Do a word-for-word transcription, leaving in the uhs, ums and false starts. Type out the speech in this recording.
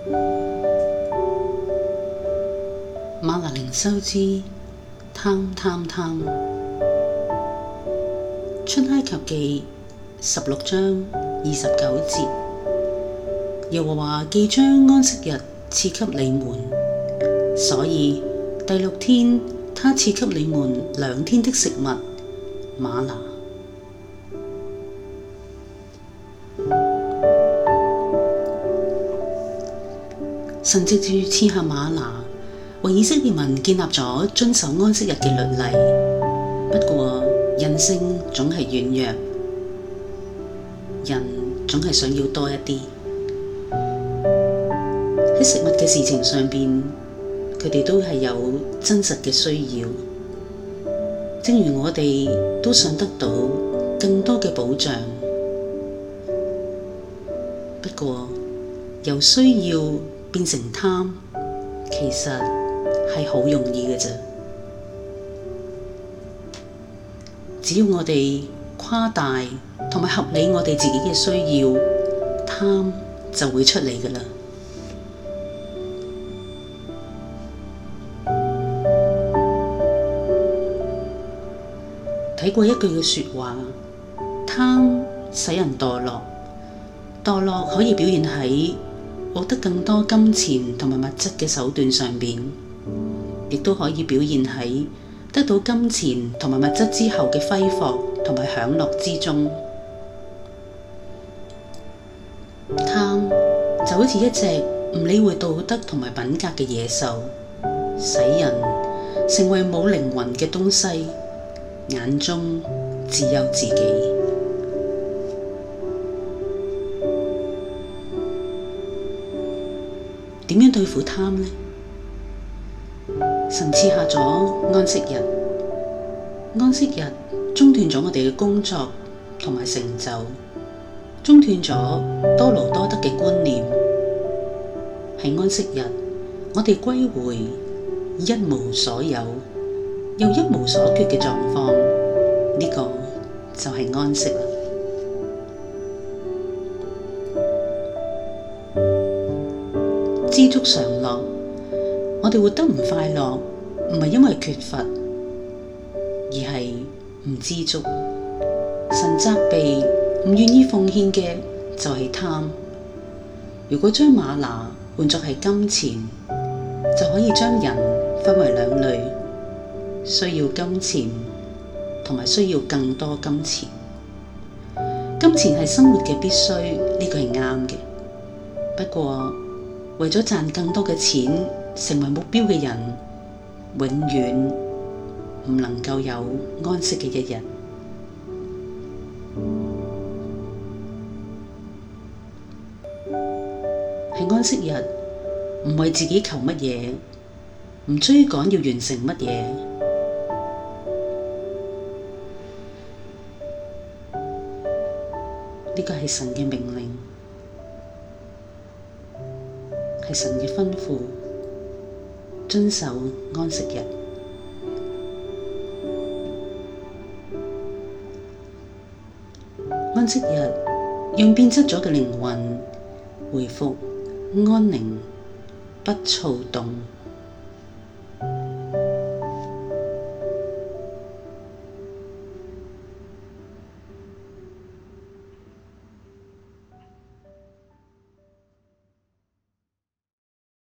馬拿靈修之貪貪貪。出埃及記十六章二十九節，耶和華既將安息日賜給你們，所以第六天他賜給你們兩天的食物嗎哪。神藉住賜下嗎哪，為以色列民建立咗遵守安息日嘅律例。不過人性總係軟弱，人總係想要多一啲。喺食物嘅事情上邊，佢哋都係有真實嘅需要。正如我哋都想得到更多嘅保障，不過由需要變成貪，其實係好容易嘅啫。只要我哋誇大同埋合理我哋自己嘅需要，貪就會出嚟㗎喇。睇過一句嘅說話，貪使人墮落，墮落可以表現喺獲得更多金錢同埋物質嘅手段上邊，亦都可以表現喺得到金錢同埋物質之後嘅揮霍同埋享樂之中。貪就好似一隻唔理會道德同埋品格嘅野獸，使人成為冇靈魂嘅東西，眼中只有自己。點樣對付貪呢？神賜下咗安息日，安息日中斷咗我哋嘅工作同埋成就，中斷咗多勞多得嘅觀念。喺安息日，我哋歸回一無所有又一無所缺嘅狀況，呢個就係安息啦。知足常樂，我哋活得唔快樂，唔係因為缺乏，而係唔知足。神責備唔願意奉獻嘅就係貪。如果將嗎哪換作係金錢，就可以將人分為兩類，需要金錢同埋需要更多金錢。金錢係生活嘅必須，呢個係啱嘅。不過為咗賺更多嘅錢，成為目標嘅人，永遠唔能夠有安息嘅一日。喺安息日，唔為自己求乜嘢，唔追趕要完成乜嘢，呢個係神嘅命令，係神嘅吩咐，遵守安息日。安息日讓變質咗嘅靈魂回復安寧，不躁動。